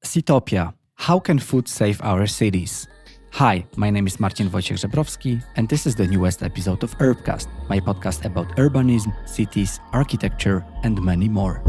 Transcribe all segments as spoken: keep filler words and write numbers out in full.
Seatopia. How can food save our cities? Hi, my name is Marcin Wojciech-Żebrowski, and this is the newest episode of Urbcast, my podcast about urbanism, cities, architecture, and many more.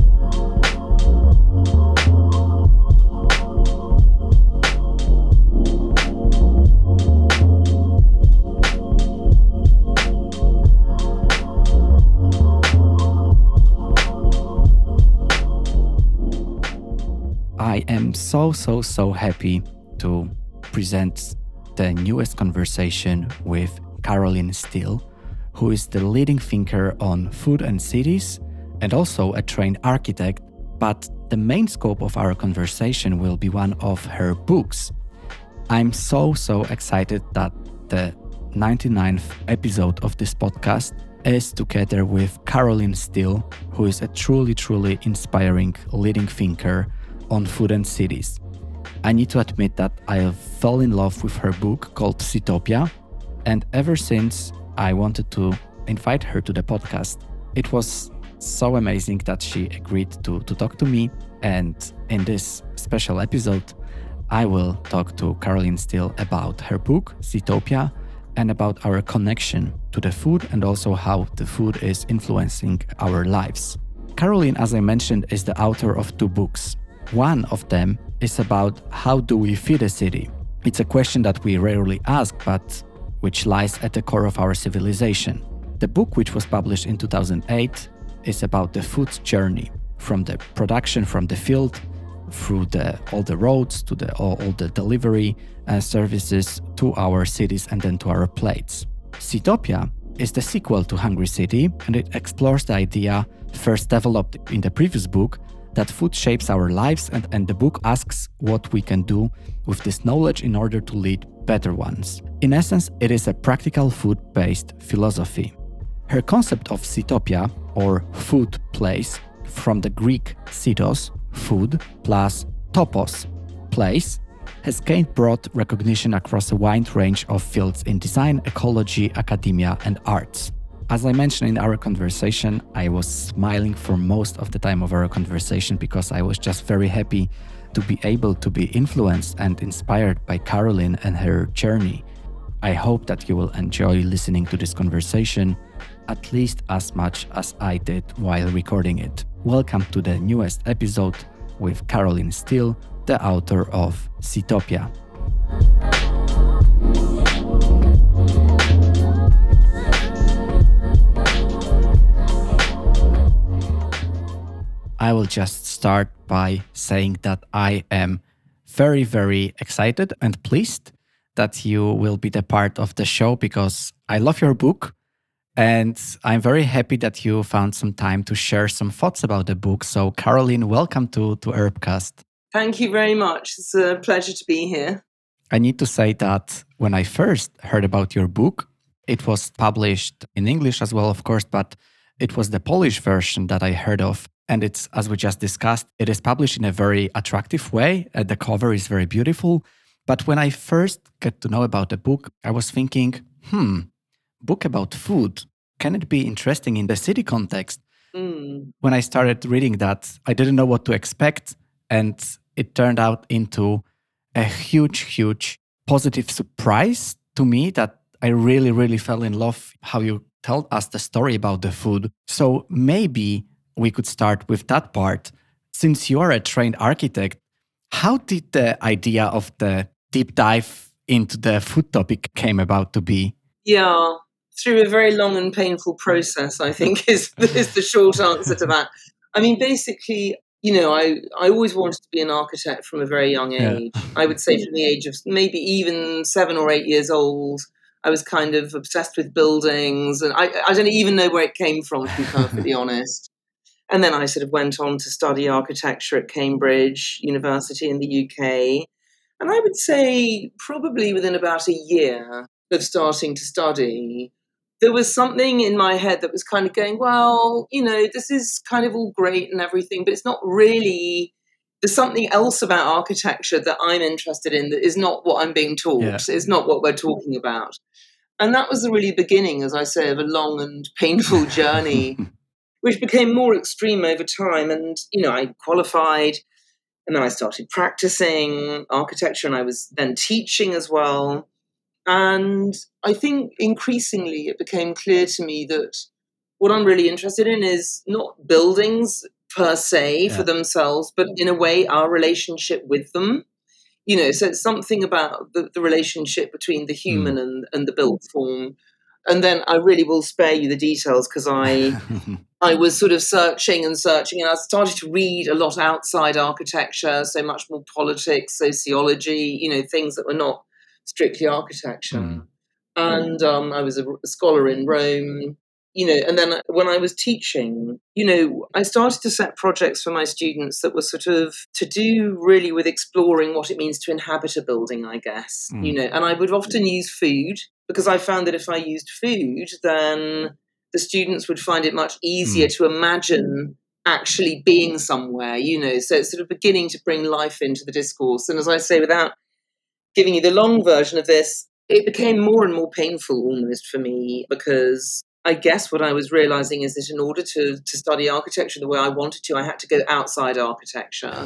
I am so, so, so happy to present the newest conversation with Caroline Steele, who is the leading thinker on food and cities and also a trained architect. But the main scope of our conversation will be one of her books. I'm so, so excited that the ninety-ninth episode of this podcast is together with Caroline Steele, who is a truly, truly inspiring leading thinker on food and cities. I need to admit that I fell in love with her book called Seatopia, and ever since I wanted to invite her to the podcast. It was so amazing that she agreed to, to talk to me, and in this special episode, I will talk to Caroline Steele about her book, Seatopia, and about our connection to the food and also how the food is influencing our lives. Caroline, as I mentioned, is the author of two books. One of them is about how do we feed a city? It's a question that we rarely ask, but which lies at the core of our civilization. The book, which was published in two thousand eight, is about the food journey, from the production from the field, through the, all the roads, to the, all, all the delivery uh, services, to our cities and then to our plates. Seatopia is the sequel to Hungry City, and it explores the idea first developed in the previous book that food shapes our lives, and, and the book asks what we can do with this knowledge in order to lead better ones. In essence, it is a practical food-based philosophy. Her concept of Seatopia, or food place, from the Greek setos, food, plus topos, place, has gained broad recognition across a wide range of fields in design, ecology, academia, and arts. As I mentioned in our conversation, I was smiling for most of the time of our conversation because I was just very happy to be able to be influenced and inspired by Caroline and her journey. I hope that you will enjoy listening to this conversation at least as much as I did while recording it. Welcome to the newest episode with Caroline Steele, the author of Seatopia. I will just start by saying that I am very, very excited and pleased that you will be the part of the show because I love your book and I'm very happy that you found some time to share some thoughts about the book. So Caroline, welcome to, to Urbcast. Thank you very much. It's a pleasure to be here. I need to say that when I first heard about your book, it was published in English as well, of course, but it was the Polish version that I heard of. And it's, as we just discussed, it is published in a very attractive way. Uh, the cover is very beautiful. But when I first get to know about the book, I was thinking, hmm, book about food. Can it be interesting in the city context? Mm. When I started reading that, I didn't know what to expect. And it turned out into a huge, huge positive surprise to me that I really, really fell in love how you told us the story about the food. So maybe we could start with that part. Since you are a trained architect, how did the idea of the deep dive into the food topic came about to be? Yeah, through a very long and painful process, I think is, is the short answer to that. I mean, basically, you know, I, I always wanted to be an architect from a very young age. Yeah. I would say from the age of maybe even seven or eight years old, I was kind of obsessed with buildings. And I, I don't even know where it came from, to be perfectly honest. And then I sort of went on to study architecture at Cambridge University in the U K. And I would say probably within about a year of starting to study, there was something in my head that was kind of going, well, you know, this is kind of all great and everything, but it's not really, there's something else about architecture that I'm interested in that is not what I'm being taught. Yeah. It's not what we're talking about. And that was the really beginning, as I say, of a long and painful journey, which became more extreme over time. And, you know, I qualified And then I started practicing architecture, and I was then teaching as well. And I think increasingly it became clear to me that what I'm really interested in is not buildings per se yeah. for themselves, but in a way our relationship with them. You know, so it's something about the, the relationship between the human mm. and, and the built form. And then I really will spare you the details because I I was sort of searching and searching, and I started to read a lot outside architecture, so much more politics, sociology, you know, things that were not strictly architecture. Mm. And um, I was a, a scholar in Rome, you know, and then when I was teaching, you know, I started to set projects for my students that were sort of to do really with exploring what it means to inhabit a building, I guess, mm. you know, and I would often use food because I found that if I used food, then the students would find it much easier mm. to imagine actually being somewhere, you know, so it's sort of beginning to bring life into the discourse. And as I say, without giving you the long version of this, it became more and more painful almost for me because I guess what I was realizing is that in order to, to study architecture the way I wanted to, I had to go outside architecture.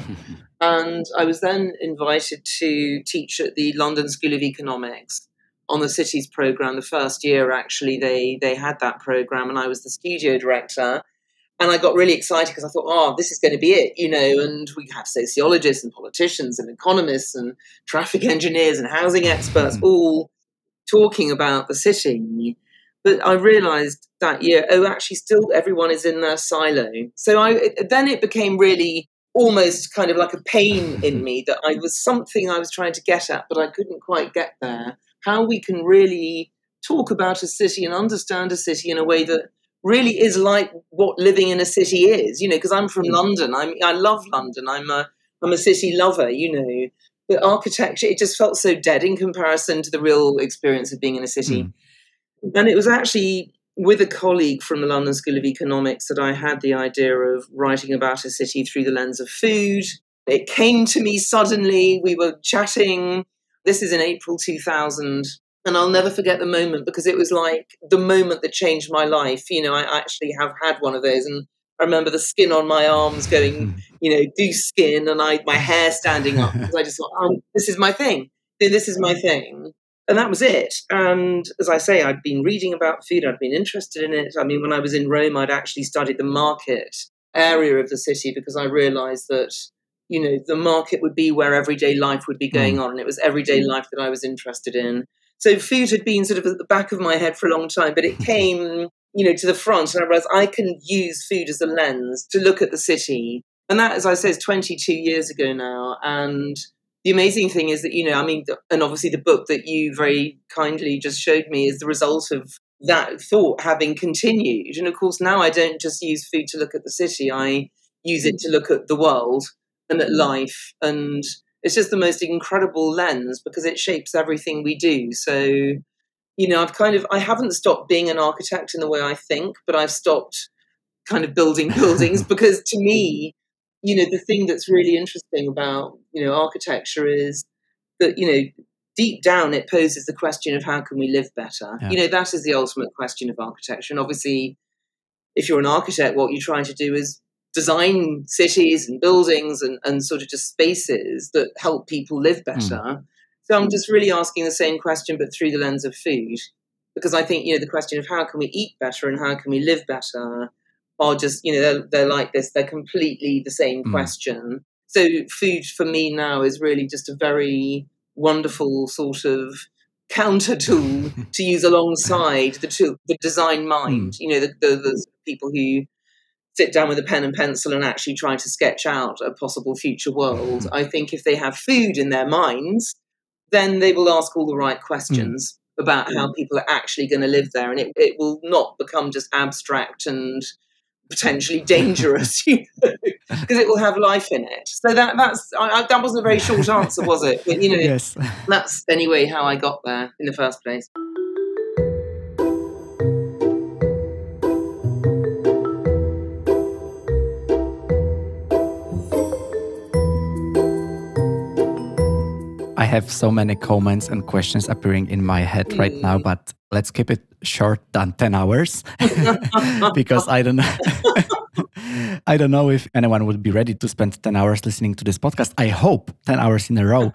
And I was then invited to teach at the London School of Economics on the Cities programme. The first year, actually, they, they had that programme, and I was the studio director. And I got really excited because I thought, oh, this is going to be it, you know, and we have sociologists and politicians and economists and traffic engineers and housing experts all talking about the city. But I realised that year, oh, actually still everyone is in their silo. So I it, then it became really almost kind of like a pain in me that I was something I was trying to get at, but I couldn't quite get there. How we can really talk about a city and understand a city in a way that really is like what living in a city is, you know, because I'm from London. I'm, I love London. I'm a, I'm a city lover, you know. But architecture, it just felt so dead in comparison to the real experience of being in a city. Mm. And it was actually with a colleague from the London School of Economics that I had the idea of writing about a city through the lens of food. It came to me suddenly. We were chatting. This is in April two thousand. And I'll never forget the moment because it was like the moment that changed my life. You know, I actually have had one of those. And I remember the skin on my arms going, you know, goose skin, and I my hair standing up. Because I just thought, oh, this is my thing. This is my thing. And that was it. And as I say, I'd been reading about food. I'd been interested in it. I mean, when I was in Rome, I'd actually studied the market area of the city because I realized that, you know, the market would be where everyday life would be going on. And it was everyday life that I was interested in. So food had been sort of at the back of my head for a long time, but it came, you know, to the front. And I realized I can use food as a lens to look at the city. And that, as I say, is twenty-two years ago now. And the amazing thing is that, you know, I mean, and obviously the book that you very kindly just showed me is the result of that thought having continued. And of course, now I don't just use food to look at the city. I use it to look at the world and at life. And it's just the most incredible lens because it shapes everything we do. So, you know, I've kind of, I haven't stopped being an architect in the way I think, but I've stopped kind of building buildings because to me, you know, the thing that's really interesting about, you know, architecture is that, you know, deep down it poses the question of how can we live better? Yeah. You know, that is the ultimate question of architecture. And obviously, if you're an architect, what you're trying to do is design cities and buildings and, and sort of just spaces that help people live better. Mm. So I'm just really asking the same question, but through the lens of food. Because I think, you know, the question of how can we eat better and how can we live better are just, you know, they're, they're like this. They're completely the same mm. question. So food for me now is really just a very wonderful sort of counter tool to use alongside the tool, the design mind, mm. you know, the, the, the people who sit down with a pen and pencil and actually try to sketch out a possible future world. I think if they have food in their minds, then they will ask all the right questions mm. about how people are actually going to live there. And it, it will not become just abstract and potentially dangerous, you know, because it will have life in it. So that that's I, I, that wasn't a very short answer, was it? But, you know, yes. That's anyway how I got there in the first place. I have so many comments and questions appearing in my head mm. right now, but let's keep it short than ten hours because I don't know. I don't know if anyone would be ready to spend ten hours listening to this podcast. I hope ten hours in a row.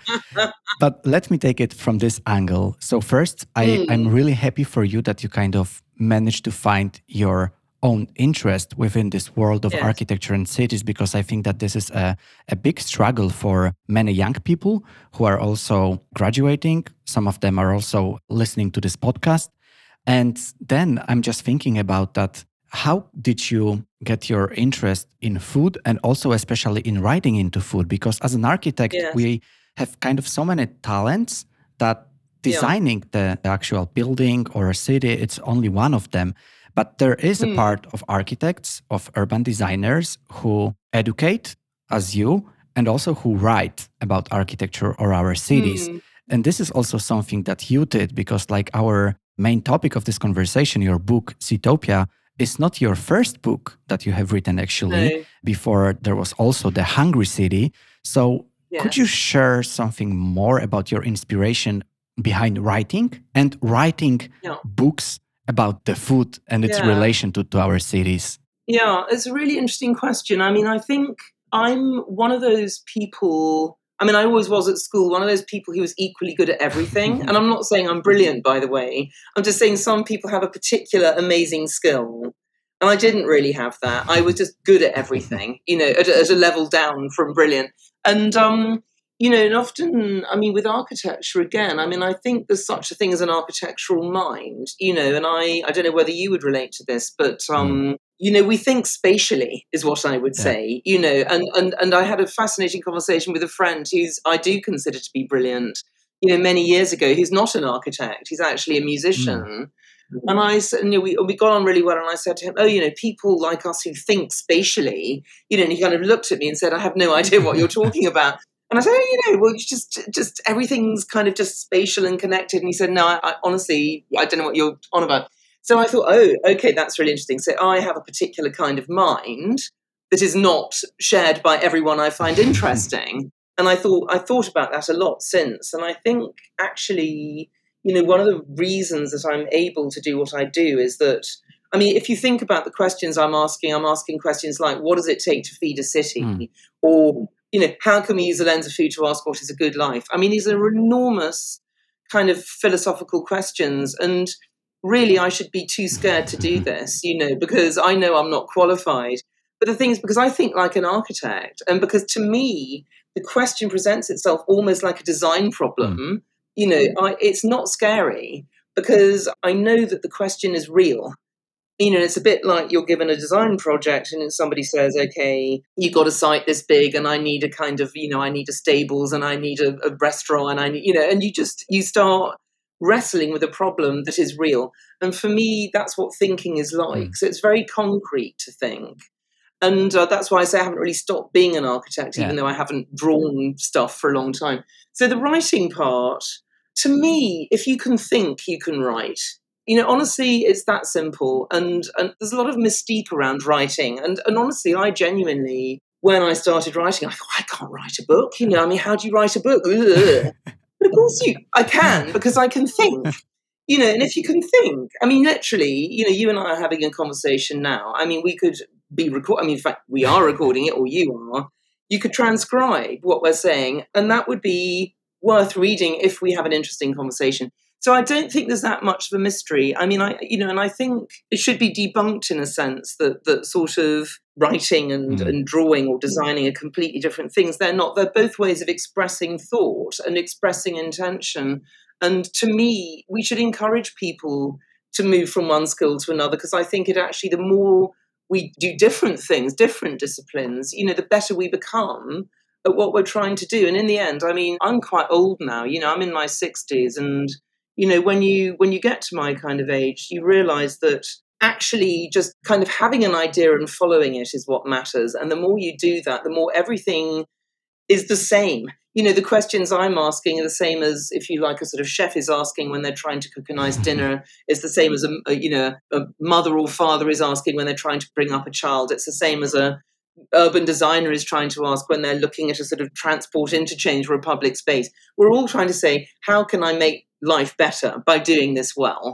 But let me take it from this angle. So first, I, mm. I'm really happy for you that you kind of managed to find your own interest within this world of yes. architecture and cities, because I think that this is a, a big struggle for many young people who are also graduating. Some of them are also listening to this podcast. And then I'm just thinking about that. How did you get your interest in food and also especially in writing into food? Because as an architect, yes. we have kind of so many talents that designing yeah. the actual building or a city, it's only one of them. But there is mm. a part of architects, of urban designers who educate as you and also who write about architecture or our cities. Mm. And this is also something that you did, because like our main topic of this conversation, your book, Citytopia, is not your first book that you have written actually. No. Before there was also The Hungry City. So yes. could you share something more about your inspiration behind writing and writing yeah. books about the food and its yeah. relation to, to our cities? Yeah, it's a really interesting question. I mean, I think I'm one of those people, I mean, I always was at school, one of those people who was equally good at everything. And I'm not saying I'm brilliant, by the way. I'm just saying some people have a particular amazing skill. And I didn't really have that. I was just good at everything, you know, at, at a level down from brilliant. And, um, you know, and often, I mean, with architecture, again, I mean, I think there's such a thing as an architectural mind, you know, and I, I don't know whether you would relate to this, but, um, mm. you know, we think spatially is what I would yeah. say, you know, and, and, and I had a fascinating conversation with a friend who's, I do consider to be brilliant, you know, many years ago, who's not an architect, he's actually a musician. Mm. And I said, you know, we, we got on really well. And I said to him, oh, you know, people like us who think spatially, you know, and he kind of looked at me and said, I have no idea what you're talking about. And I said, oh, you know, well, it's just, just everything's kind of just spatial and connected. And he said, no, I, I honestly, I don't know what you're on about. So I thought, oh, okay, that's really interesting. So I have a particular kind of mind that is not shared by everyone I find interesting. And I thought, I thought about that a lot since. And I think actually, you know, one of the reasons that I'm able to do what I do is that, I mean, if you think about the questions I'm asking, I'm asking questions like, what does it take to feed a city? Mm. Or, you know, how can we use the lens of food to ask what is a good life? I mean, these are enormous kind of philosophical questions. And really, I should be too scared to do this, you know, because I know I'm not qualified. But the thing is, because I think like an architect, and because to me, the question presents itself almost like a design problem. Mm. You know, I, it's not scary because I know that the question is real. You know, it's a bit like you're given a design project and somebody says, okay, you got a site this big and I need a kind of, you know, I need a stables and I need a, a restaurant and I need, you know, and you just, you start wrestling with a problem that is real. And for me, that's what thinking is like. Mm. So it's very concrete to think. And uh, that's why I say I haven't really stopped being an architect, yeah. even though I haven't drawn stuff for a long time. So the writing part, to me, if you can think, you can write. You know, honestly, it's that simple. And, and there's a lot of mystique around writing. And, and honestly, I genuinely, when I started writing, I thought, I can't write a book. You know, I mean, how do you write a book? Ugh. But of course you, I can, because I can think. You know, and if you can think, I mean, literally, you know, you and I are having a conversation now. I mean, we could be record. I mean, in fact, we are recording it, or you are. You could transcribe what we're saying, and that would be worth reading if we have an interesting conversation. So I don't think there's that much of a mystery. I mean, I, you know, and I think it should be debunked in a sense that that sort of writing and, mm. and drawing or designing are completely different things. They're not. They're both ways of expressing thought and expressing intention. And to me, we should encourage people to move from one skill to another, because I think it actually, the more we do different things, different disciplines, you know, the better we become at what we're trying to do. And in the end, I mean, I'm quite old now, you know, I'm in my sixties. And, you know, when you when you get to my kind of age, you realize that actually just kind of having an idea and following it is what matters. And the more you do that, the more everything is the same. You know, the questions I'm asking are the same as, if you like, a sort of chef is asking when they're trying to cook a nice dinner. It's the same as, a, a you know, a mother or father is asking when they're trying to bring up a child. It's the same as a urban designer is trying to ask when they're looking at a sort of transport interchange or a public space. We're all trying to say, how can I make life better by doing this well?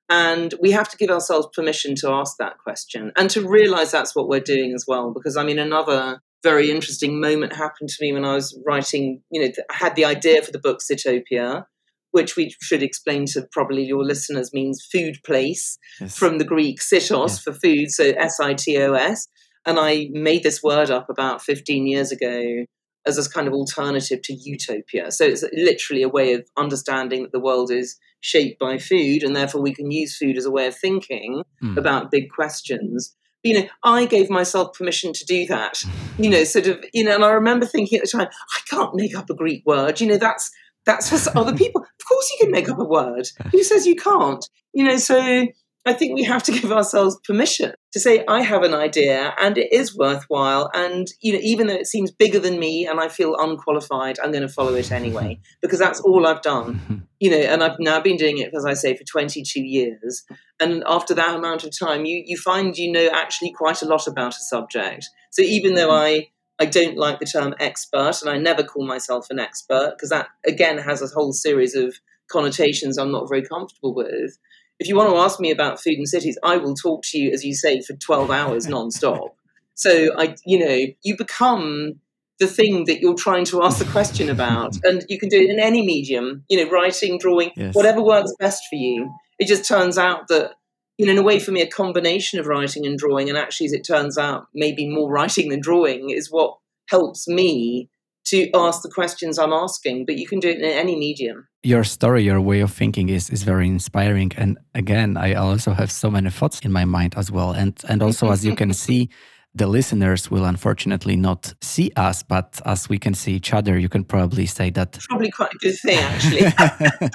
And we have to give ourselves permission to ask that question and to realize that's what we're doing as well. Because, I mean, another very interesting moment happened to me when I was writing, you know, I had the idea for the book Sitopia, which we should explain to probably your listeners means food place, yes. from the Greek sitos, yes. for food, so S I T O S. And I made this word up about fifteen years ago as a kind of alternative to utopia. So it's literally a way of understanding that the world is shaped by food, and therefore we can use food as a way of thinking mm. about big questions. But, you know, I gave myself permission to do that, you know, sort of, you know, and I remember thinking at the time, I can't make up a Greek word, you know, that's, that's for other people. Of course you can make up a word. Who says you can't? You know, so I think we have to give ourselves permission to say, I have an idea and it is worthwhile. And, you know, even though it seems bigger than me and I feel unqualified, I'm going to follow it anyway, because that's all I've done, you know, and I've now been doing it, as I say, for twenty-two years. And after that amount of time, you, you find you know actually quite a lot about a subject. So even though I, I don't like the term expert, and I never call myself an expert, because that, again, has a whole series of connotations I'm not very comfortable with. If you want to ask me about food and cities, I will talk to you, as you say, for twelve hours nonstop. So, I, you know, you become the thing that you're trying to ask the question about. And you can do it in any medium, you know, writing, drawing, yes. whatever works best for you. It just turns out that, you know, in a way, for me, a combination of writing and drawing, and actually, as it turns out, maybe more writing than drawing, is what helps me to ask the questions I'm asking. But you can do it in any medium. Your story, your way of thinking is, is very inspiring. And again, I also have so many thoughts in my mind as well. And, and also, as you can see, the listeners will unfortunately not see us, but as we can see each other, you can probably say that... Probably quite a good thing, actually.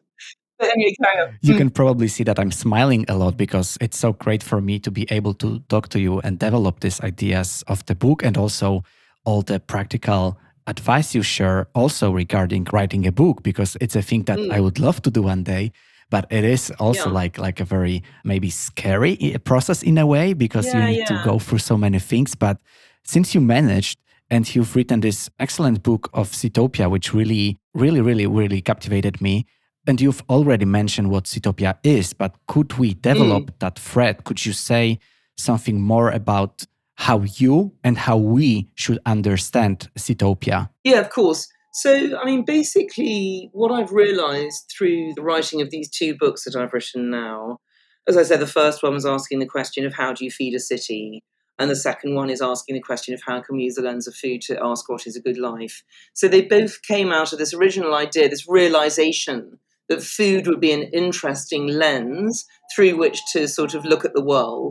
But anyway, carry on. You can probably see that I'm smiling a lot because it's so great for me to be able to talk to you and develop these ideas of the book, and also all the practical advice you share also regarding writing a book, because it's a thing that mm. I would love to do one day. But it is also yeah. like like a very maybe scary process in a way, because yeah, you need yeah. to go through so many things. But since you managed, and you've written this excellent book of Sitopia, which really, really, really, really captivated me. And you've already mentioned what Sitopia is, but could we develop mm. that thread? Could you say something more about how you and how we should understand Sitopia? Yeah, of course. So, I mean, basically, what I've realized through the writing of these two books that I've written now, as I said, the first one was asking the question of how do you feed a city? And the second one is asking the question of how can we use the lens of food to ask what is a good life? So they both came out of this original idea, this realization that food would be an interesting lens through which to sort of look at the world.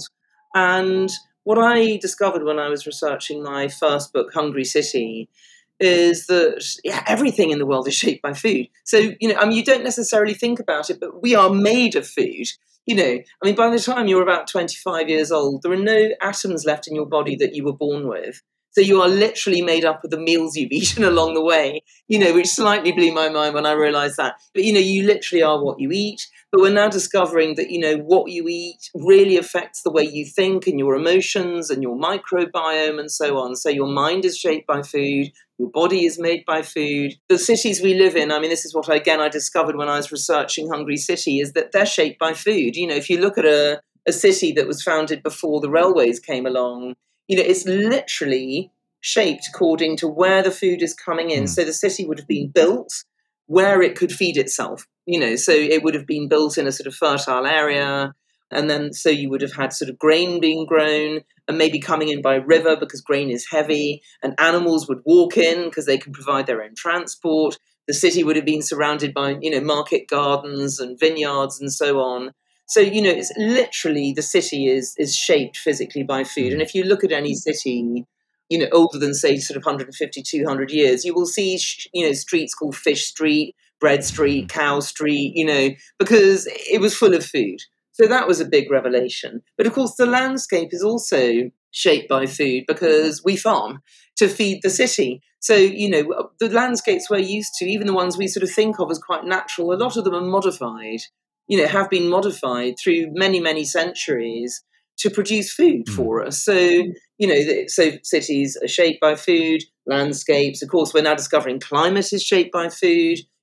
And what I discovered when I was researching my first book, Hungry City, is that yeah, everything in the world is shaped by food. So, you know, I mean, you don't necessarily think about it, but we are made of food. You know, I mean, by the time you're about twenty-five years old, there are no atoms left in your body that you were born with. So you are literally made up of the meals you've eaten along the way, you know, which slightly blew my mind when I realized that. But, you know, you literally are what you eat. But we're now discovering that, you know, what you eat really affects the way you think and your emotions and your microbiome and so on. So your mind is shaped by food. Your body is made by food. The cities we live in, I mean, this is what, again, I discovered when I was researching Hungry City, is that they're shaped by food. You know, if you look at a, a city that was founded before the railways came along, you know, it's literally shaped according to where the food is coming in. Mm. So the city would have been built where it could feed itself, you know, so it would have been built in a sort of fertile area. And then so you would have had sort of grain being grown and maybe coming in by river because grain is heavy, and animals would walk in because they can provide their own transport. The city would have been surrounded by, you know, market gardens and vineyards and so on. So, you know, it's literally the city is is shaped physically by food. And if you look at any city, you know, older than, say, sort of one hundred fifty, two hundred years, you will see, you know, streets called Fish Street, Bread Street, Cow Street, you know, because it was full of food. So that was a big revelation. But of course, the landscape is also shaped by food because we farm to feed the city. So, you know, the landscapes we're used to, even the ones we sort of think of as quite natural, a lot of them are modified, you know, have been modified through many, many centuries to produce food for us. So, you know, so cities are shaped by food, landscapes. Of course, we're now discovering climate is shaped by food.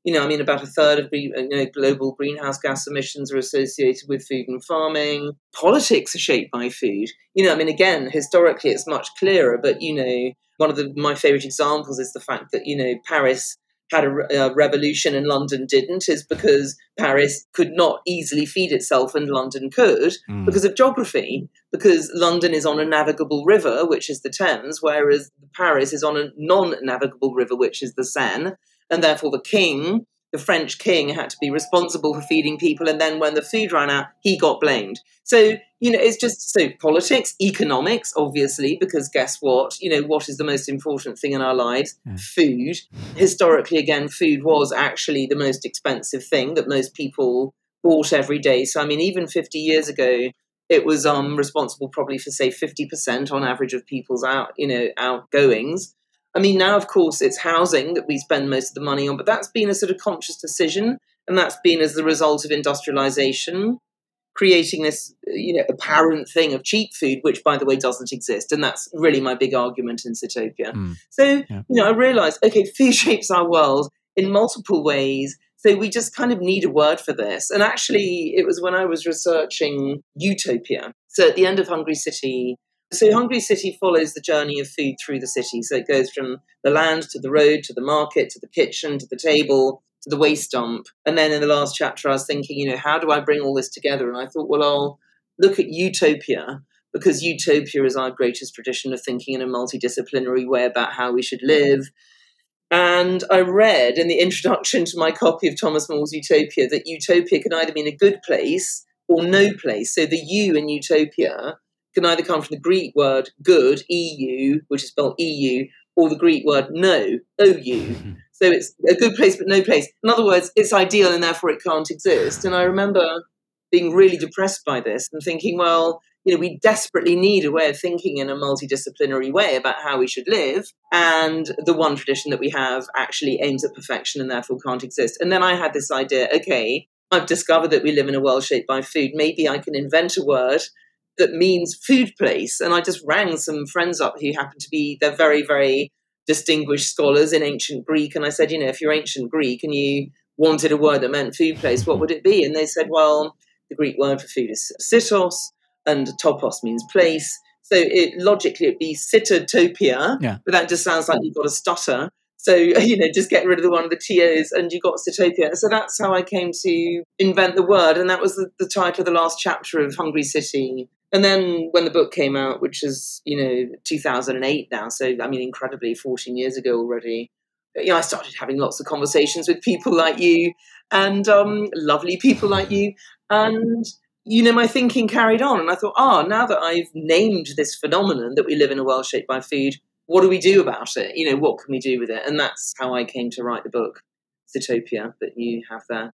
You know, I mean, about a third of you know, global greenhouse gas emissions are associated with food and farming. Politics are shaped by food. You know, I mean, again, historically, it's much clearer. But, you know, one of the, my favorite examples is the fact that, you know, Paris had a, a revolution and London didn't, is because Paris could not easily feed itself and London could mm. because of geography, because London is on a navigable river, which is the Thames, whereas Paris is on a non-navigable river, which is the Seine. And therefore the king, the French king, had to be responsible for feeding people. And then when the food ran out, he got blamed. So, you know, it's just so politics, economics, obviously, because guess what? You know, what is the most important thing in our lives? Yeah. Food. Historically, again, food was actually the most expensive thing that most people bought every day. So, I mean, even fifty years ago, it was um, responsible probably for, say, fifty percent on average of people's out, you know, outgoings. I mean, now, of course, it's housing that we spend most of the money on, but that's been a sort of conscious decision, and that's been as the result of industrialization, creating this, you know, apparent thing of cheap food, which, by the way, doesn't exist. And that's really my big argument in Sitopia. Mm. So, yeah. you know, I realized, okay, food shapes our world in multiple ways. So we just kind of need a word for this. And actually, it was when I was researching Utopia. So at the end of Hungry City, So Hungry City follows the journey of food through the city. So it goes from the land to the road, to the market, to the kitchen, to the table, to the waste dump. And then in the last chapter, I was thinking, you know, how do I bring all this together? And I thought, well, I'll look at Utopia, because Utopia is our greatest tradition of thinking in a multidisciplinary way about how we should live. And I read in the introduction to my copy of Thomas More's Utopia that Utopia can either mean a good place or no place. So the U in Utopia can either come from the Greek word good, E U, which is spelled E U, or the Greek word no, O U. So it's a good place but no place. In other words, it's ideal and therefore it can't exist. And I remember being really depressed by this and thinking, well, you know, we desperately need a way of thinking in a multidisciplinary way about how we should live. And the one tradition that we have actually aims at perfection and therefore can't exist. And then I had this idea, okay, I've discovered that we live in a world shaped by food. Maybe I can invent a word that means food place. And I just rang some friends up who happen to be, they're very, very distinguished scholars in ancient Greek. And I said, you know, if you're ancient Greek and you wanted a word that meant food place, what would it be? And they said, well, the Greek word for food is sitos, and topos means place. So it, logically it'd be Sitotopia, yeah. But that just sounds like you've got a stutter. So, you know, just get rid of the one of the T O's and you got Sitopia. So that's how I came to invent the word. And that was the, the title of the last chapter of Hungry City. And then when the book came out, which is, you know, two thousand eight now, so, I mean, incredibly fourteen years ago already, you know, I started having lots of conversations with people like you and um, lovely people like you. And, you know, my thinking carried on. And I thought, ah, oh, now that I've named this phenomenon that we live in a world shaped by food, what do we do about it? You know, what can we do with it? And that's how I came to write the book, Sitopia, that you have there.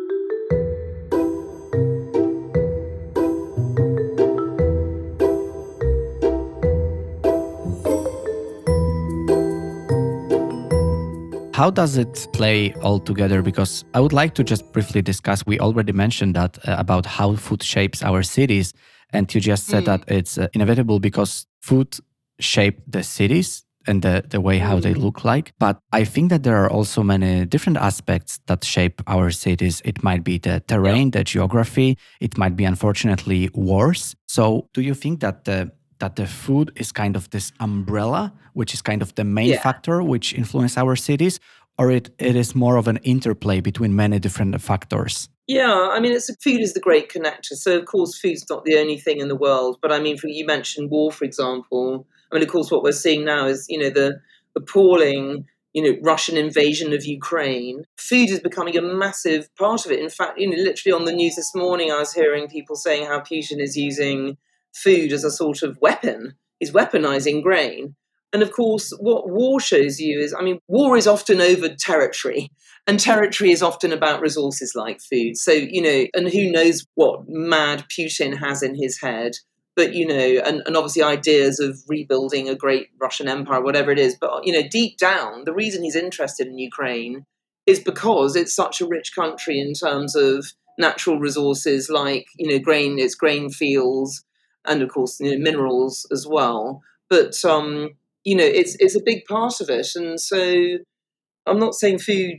How does it play all together? Because I would like to just briefly discuss, we already mentioned that uh, about how food shapes our cities. And you just said mm. that it's uh, inevitable because food shape the cities and the, the way how they look like. But I think that there are also many different aspects that shape our cities. It might be the terrain, the geography. It might be, unfortunately, wars. So do you think that the that the food is kind of this umbrella, which is kind of the main yeah. factor which influence our cities, or it, it is more of an interplay between many different factors? Yeah, I mean, it's food is the great connector. So, of course, food's not the only thing in the world. But, I mean, for, you mentioned war, for example. I mean, of course, what we're seeing now is, you know, the appalling, you know, Russian invasion of Ukraine. Food is becoming a massive part of it. In fact, you know, literally on the news this morning, I was hearing people saying how Putin is using food as a sort of weapon. He's weaponizing grain. And of course, what war shows you is, I mean, war is often over territory, and territory is often about resources like food. So, you know, and who knows what mad Putin has in his head, but, you know, and, and obviously ideas of rebuilding a great Russian empire, whatever it is. But, you know, deep down, the reason he's interested in Ukraine is because it's such a rich country in terms of natural resources like, you know, grain, its grain fields, and of course, you know, minerals as well. But, um, you know, it's it's a big part of it. And so I'm not saying food's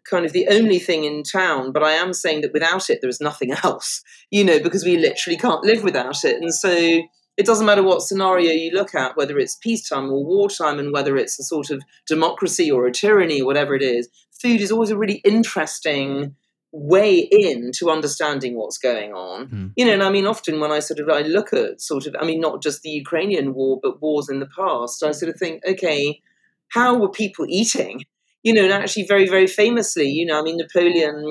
kind of the only thing in town, but I am saying that without it, there is nothing else, you know, because we literally can't live without it. And so it doesn't matter what scenario you look at, whether it's peacetime or wartime, and whether it's a sort of democracy or a tyranny or whatever it is, food is always a really interesting way in to understanding what's going on. Mm. You know, and I mean, often when I sort of, I look at sort of, I mean, not just the Ukrainian war, but wars in the past, I sort of think, okay, how were people eating? You know, and actually very, very famously, you know, I mean, Napoleon,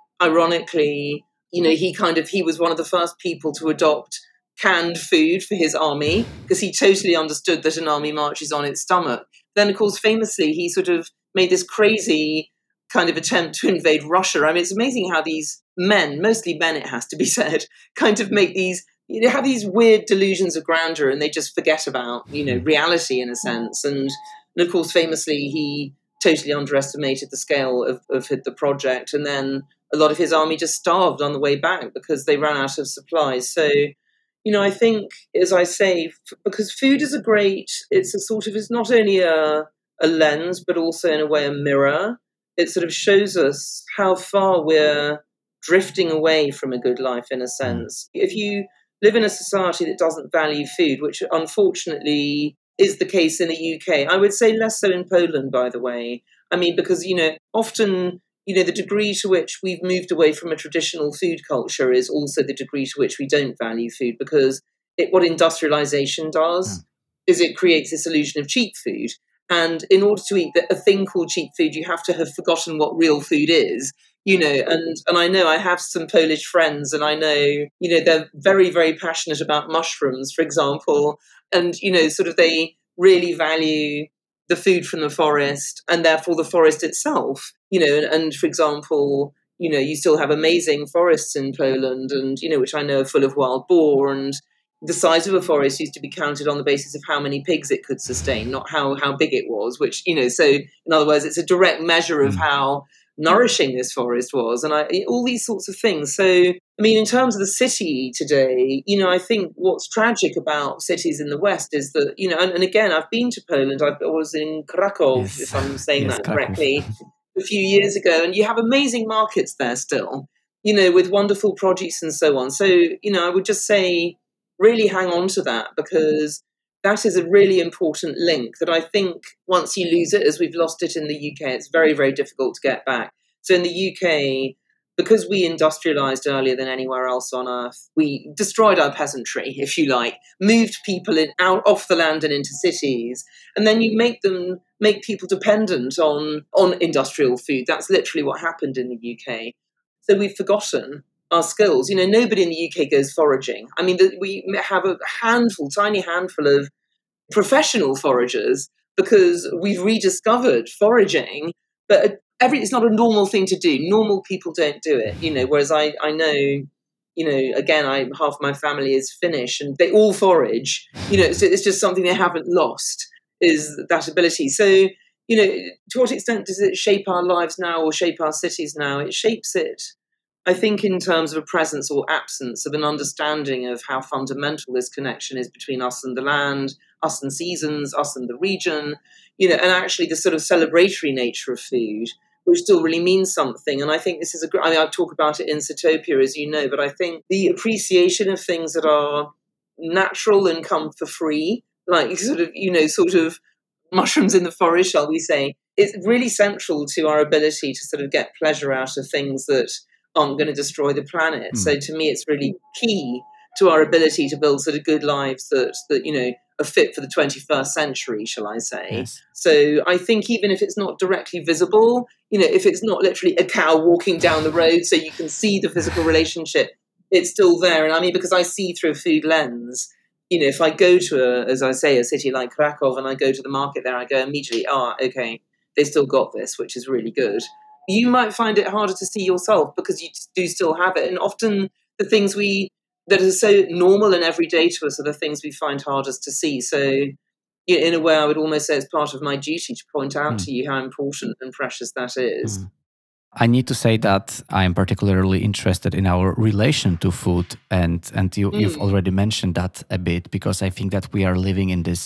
ironically, you know, he kind of, he was one of the first people to adopt canned food for his army because he totally understood that an army marches on its stomach. Then, of course, famously, he sort of made this crazy kind of attempt to invade Russia. I mean, it's amazing how these men, mostly men, it has to be said, kind of make these, you know, have these weird delusions of grandeur, and they just forget about, you know, reality in a sense. And, and of course, famously, he totally underestimated the scale of, of the project. And then a lot of his army just starved on the way back because they ran out of supplies. So, you know, I think, as I say, f- because food is a great, it's a sort of, it's not only a, a lens, but also in a way a mirror. It sort of shows us how far we're drifting away from a good life, in a sense. If you live in a society that doesn't value food, which unfortunately is the case in the U K, I would say less so in Poland, by the way. I mean, because, you know, often, you know, the degree to which we've moved away from a traditional food culture is also the degree to which we don't value food, because it, what industrialization does mm. is it creates this illusion of cheap food. And in order to eat a thing called cheap food, you have to have forgotten what real food is, you know, and, and I know I have some Polish friends, and I know, you know, they're very, very passionate about mushrooms, for example, and, you know, sort of they really value the food from the forest and therefore the forest itself, you know, and, and for example, you know, you still have amazing forests in Poland, and, you know, which I know are full of wild boar, and the size of a forest used to be counted on the basis of how many pigs it could sustain, not how, how big it was, which, you know, so in other words, it's a direct measure of how nourishing this forest was, and I, all these sorts of things. So, I mean, in terms of the city today, you know, I think what's tragic about cities in the West is that, you know, and, and again, I've been to Poland. I was in Krakow, yes. if I'm saying yes, that correctly, Krakow. a few years ago, and you have amazing markets there still, you know, with wonderful produce and so on. So, you know, I would just say, really hang on to that, because that is a really important link that I think once you lose it, as we've lost it in the U K, it's very, very difficult to get back. So in the U K, because we industrialized earlier than anywhere else on earth, we destroyed our peasantry, if you like, moved people in, out off the land and into cities, and then you make them make people dependent on, on industrial food. That's literally what happened in the U K. So we've forgotten our skills. You know, nobody in the U K goes foraging. I mean, the, we have a handful, tiny handful of professional foragers because we've rediscovered foraging, but every it's not a normal thing to do. Normal people don't do it, you know, whereas I, I know, you know, again, I half my family is Finnish and they all forage, you know, so it's just something they haven't lost, is that ability. So, you know, to what extent does it shape our lives now or shape our cities now? It shapes it, I think, in terms of a presence or absence of an understanding of how fundamental this connection is between us and the land, us and seasons, us and the region, you know, and actually the sort of celebratory nature of food, which still really means something. And I think this is a, I mean, I talk about it in Sitopia, as you know, but I think the appreciation of things that are natural and come for free, like sort of, you know, sort of mushrooms in the forest, shall we say, is really central to our ability to sort of get pleasure out of things that aren't going to destroy the planet. Mm. So to me, it's really key to our ability to build sort of good lives that, that, you know, are fit for the twenty-first century, shall I say. Yes. So I think even if it's not directly visible, you know, if it's not literally a cow walking down the road so you can see the physical relationship, it's still there. And I mean, because I see through a food lens, you know, if I go to, a, as I say, a city like Krakow and I go to the market there, I go immediately, ah, oh, okay, they still got this, which is really good. You might find it harder to see yourself because you do still have it. And often the things we that are so normal and everyday to us are the things we find hardest to see. So, you know, in a way, I would almost say it's part of my duty to point out mm. to you how important and precious that is. Mm. I need to say that I am particularly interested in our relation to food. And, and you, mm. you've already mentioned that a bit, because I think that we are living in this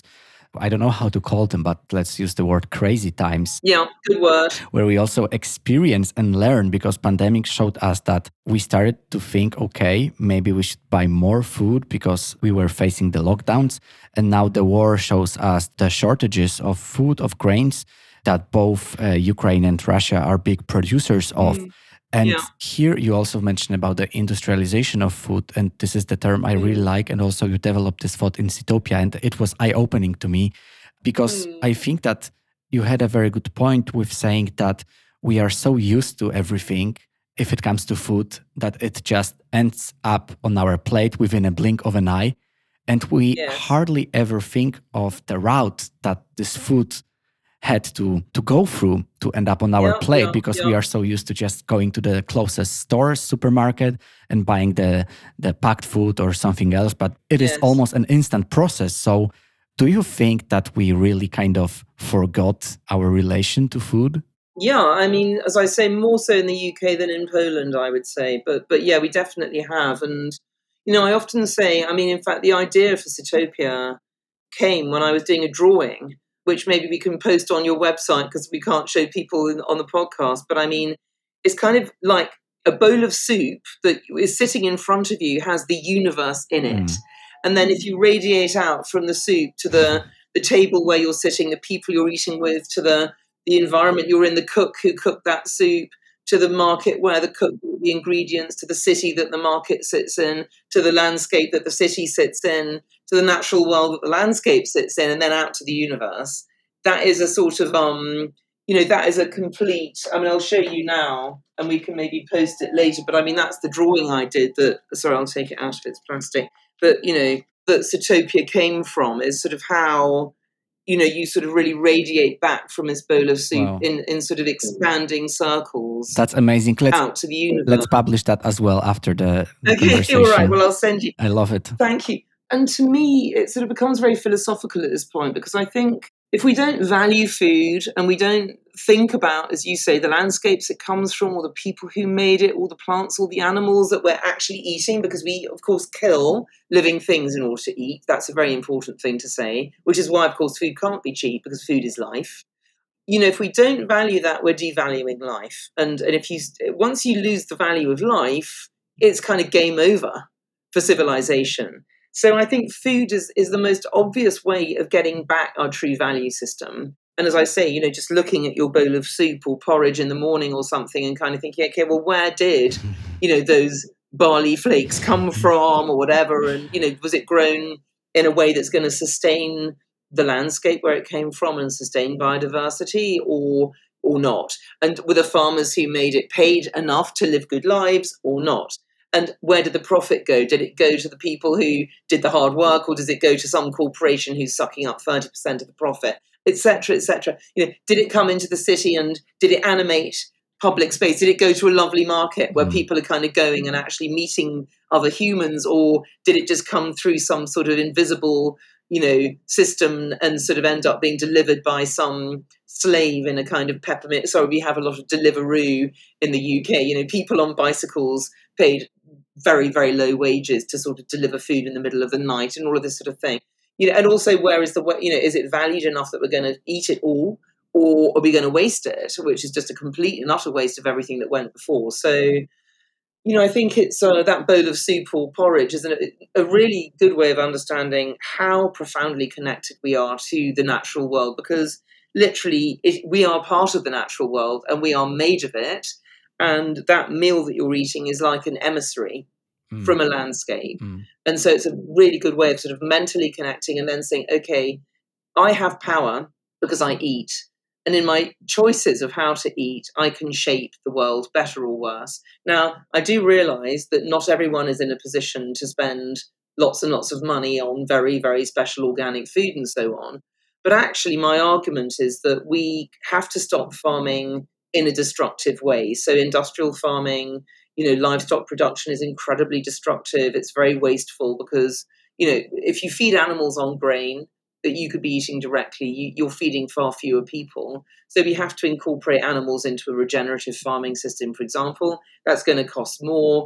I don't know how to call them, but let's use the word crazy times. Yeah, good word. Where we also experience and learn, because pandemic showed us that we started to think, okay, maybe we should buy more food because we were facing the lockdowns. And now the war shows us the shortages of food, of grains that both uh, Ukraine and Russia are big producers of. Mm. And yeah. Here you also mentioned about the industrialization of food. And this is the term I really like. And also you developed this thought in Seatopia. And it was eye-opening to me because mm. I think that you had a very good point with saying that we are so used to everything if it comes to food that it just ends up on our plate within a blink of an eye. And we yes. hardly ever think of the route that this food had to to go through to end up on our yeah, plate yeah, because yeah. we are so used to just going to the closest store, supermarket, and buying the the packed food or something else. But it yes. is almost an instant process. So do you think that we really kind of forgot our relation to food? Yeah, I mean, as I say, more so in the U K than in Poland, I would say. But but yeah, we definitely have. And, you know, I often say, I mean, in fact, the idea for Seatopia came when I was doing a drawing, which maybe we can post on your website because we can't show people in, on the podcast. But I mean, it's kind of like a bowl of soup that is sitting in front of you, has the universe in it. Mm. And then if you radiate out from the soup to the, the table where you're sitting, the people you're eating with, to the, the environment you're in, the cook who cooked that soup, to the market where the cook bought the ingredients, to the city that the market sits in, to the landscape that the city sits in, to the natural world that the landscape sits in, and then out to the universe. That is a sort of, um, you know, that is a complete, I mean, I'll show you now, and we can maybe post it later, but I mean, that's the drawing I did that, sorry, I'll take it out of its plastic, but, you know, that Seatopia came from is sort of how, you know, you sort of really radiate back from this bowl of soup wow. in, in sort of expanding circles. That's amazing. Let's, out to the universe. Let's publish that as well after the, the okay, conversation. All right, well, I'll send you. I love it. Thank you. And to me, it sort of becomes very philosophical at this point, because I think if we don't value food and we don't think about, as you say, the landscapes it comes from, or the people who made it, or the plants, or the animals that we're actually eating, because we, of course, kill living things in order to eat. That's a very important thing to say, which is why, of course, food can't be cheap, because food is life. You know, if we don't value that, we're devaluing life. And, and if you once you lose the value of life, it's kind of game over for civilization. So I think food is, is the most obvious way of getting back our true value system. And as I say, you know, just looking at your bowl of soup or porridge in the morning or something and kind of thinking, okay, well, where did, you know, those barley flakes come from or whatever? And, you know, was it grown in a way that's going to sustain the landscape where it came from and sustain biodiversity, or or not? And were the farmers who made it paid enough to live good lives or not? And where did the profit go? Did it go to the people who did the hard work, or does it go to some corporation who's sucking up thirty percent of the profit, et cetera, et cetera? You know, did it come into the city and did it animate public space? Did it go to a lovely market where mm. people are kind of going and actually meeting other humans, or did it just come through some sort of invisible, you know, system and sort of end up being delivered by some slave in a kind of peppermint? Sorry, we have a lot of Deliveroo in the U K. You know, people on bicycles paid very, very low wages to sort of deliver food in the middle of the night and all of this sort of thing. You know, and also where is the, you know, is it valued enough that we're going to eat it all, or are we going to waste it, which is just a complete and utter waste of everything that went before? So, you know, I think it's uh, that bowl of soup or porridge is an, a really good way of understanding how profoundly connected we are to the natural world, because literally it, we are part of the natural world and we are made of it. And that meal that you're eating is like an emissary mm. from a landscape. Mm. And so it's a really good way of sort of mentally connecting and then saying, okay, I have power because I eat. And in my choices of how to eat, I can shape the world better or worse. Now, I do realize that not everyone is in a position to spend lots and lots of money on very, very special organic food and so on. But actually, my argument is that we have to stop farming in a destructive way. So industrial farming, you know, livestock production is incredibly destructive. It's very wasteful because, you know, if you feed animals on grain that you could be eating directly, you, you're feeding far fewer people. So we have to incorporate animals into a regenerative farming system, for example. That's going to cost more.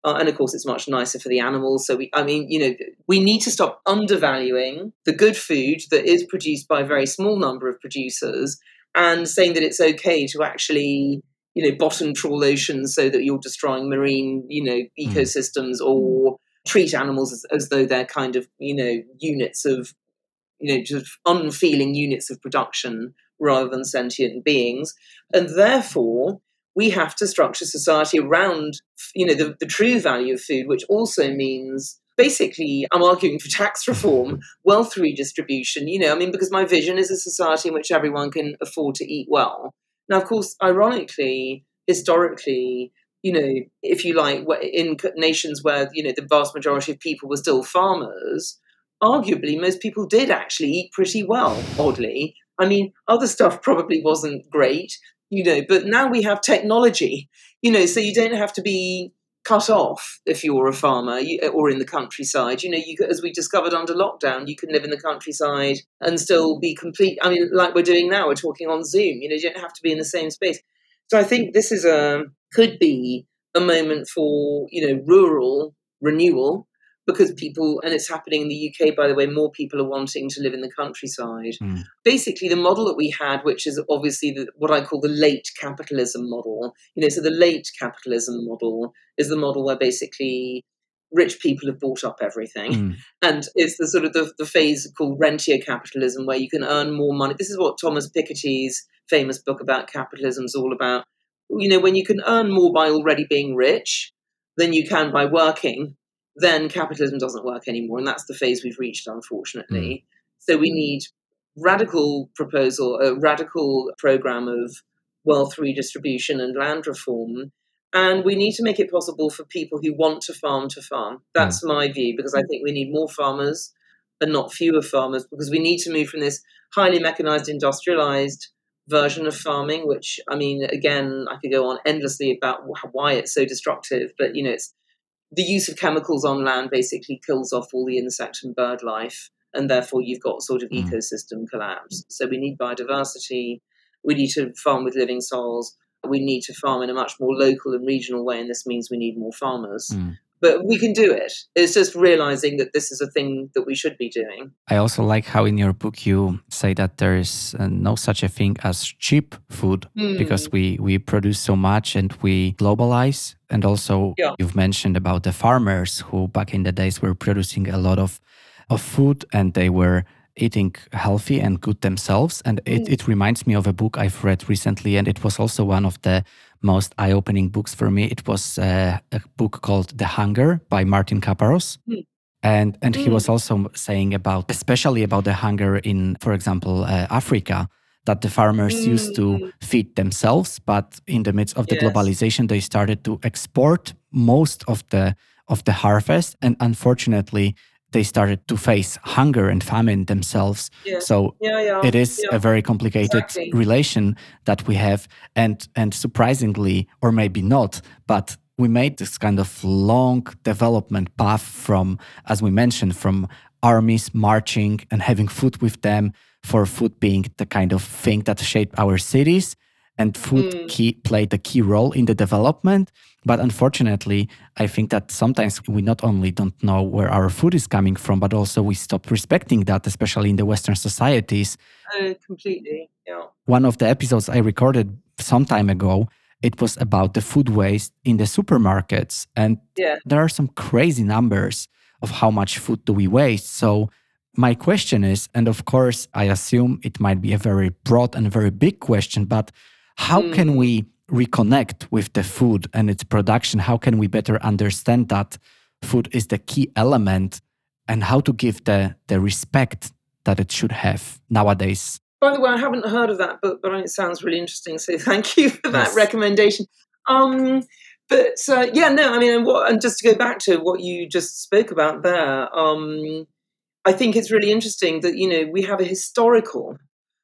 Uh, and of course, it's much nicer for the animals. So, we, I mean, you know, we need to stop undervaluing the good food that is produced by a very small number of producers and saying that it's okay to actually, you know, bottom trawl oceans so that you're destroying marine, you know, ecosystems mm. or treat animals as, as though they're kind of, you know, units of, you know, just unfeeling units of production rather than sentient beings. And therefore, we have to structure society around, you know, the, the true value of food, which also means basically I'm arguing for tax reform, wealth redistribution, you know, I mean, because my vision is a society in which everyone can afford to eat well. Now, of course, ironically, historically, you know, if you like, in nations where, you know, the vast majority of people were still farmers, arguably most people did actually eat pretty well, oddly. I mean, other stuff probably wasn't great, you know, but now we have technology, you know, so you don't have to be cut off if you're a farmer you, or in the countryside. You know, you as we discovered under lockdown, you can live in the countryside and still be complete. I mean, like we're doing now, we're talking on Zoom, you know, you don't have to be in the same space. So I think this is a, could be a moment for, you know, rural renewal, because people, and it's happening in the U K, by the way, more people are wanting to live in the countryside. Mm. Basically, the model that we had, which is obviously the, what I call the late capitalism model, you know, so the late capitalism model is the model where basically rich people have bought up everything. Mm. And it's the sort of the, the phase called rentier capitalism, where you can earn more money. This is what Thomas Piketty's famous book about capitalism is all about. You know, when you can earn more by already being rich than you can by working, then capitalism doesn't work anymore. And that's the phase we've reached, unfortunately. Mm. So we need radical proposal, a radical program of wealth redistribution and land reform. And we need to make it possible for people who want to farm to farm. That's mm. my view, because I think we need more farmers and not fewer farmers, because we need to move from this highly mechanized, industrialized version of farming, which, I mean, again, I could go on endlessly about why it's so destructive, but, you know, it's the use of chemicals on land basically kills off all the insect and bird life, and therefore you've got sort of mm. ecosystem collapse. So we need biodiversity, we need to farm with living soils, we need to farm in a much more local and regional way, and this means we need more farmers. Mm. But we can do it. It's just realizing that this is a thing that we should be doing. I also like how in your book you say that there is uh, no such a thing as cheap food mm. because we, we produce so much and we globalize. And also yeah. you've mentioned about the farmers who back in the days were producing a lot of, of food and they were eating healthy and good themselves. And it, mm. it reminds me of a book I've read recently, and it was also one of the most eye-opening books for me. It was uh, a book called The Hunger by Martin Kaparos. Mm. And and mm. he was also saying about, especially about the hunger in, for example, uh, Africa, that the farmers mm. used to feed themselves, but in the midst of the yes. globalization, they started to export most of the of the harvest. And unfortunately, they started to face hunger and famine themselves. Yeah. So yeah, yeah, it is yeah. a very complicated exactly. relation that we have. And, and surprisingly, or maybe not, but we made this kind of long development path from, as we mentioned, from armies marching and having food with them, for food being the kind of thing that shaped our cities. And food mm. key, played a key role in the development. But unfortunately, I think that sometimes we not only don't know where our food is coming from, but also we stop respecting that, especially in the Western societies. Uh, completely, yeah. One of the episodes I recorded some time ago, it was about the food waste in the supermarkets. And yeah. there are some crazy numbers of how much food do we waste. So my question is, and of course, I assume it might be a very broad and very big question, but how mm. can we reconnect with the food and its production? How can we better understand that food is the key element and how to give the, the respect that it should have nowadays? By the way, I haven't heard of that book, but it sounds really interesting. So thank you for that yes. recommendation. Um, but uh, yeah, no, I mean, and, what, and just to go back to what you just spoke about there, um, I think it's really interesting that, you know, we have a historical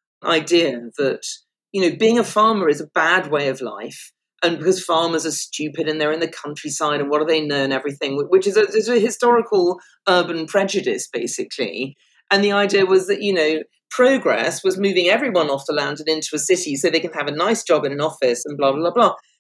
idea that, you know, being a farmer is a bad way of life. And because farmers are stupid and they're in the countryside and what do they know and everything, which is a, is a historical urban prejudice, basically. And the idea was that, you know, progress was moving everyone off the land and into a city so they can have a nice job in an office and blah, blah, blah.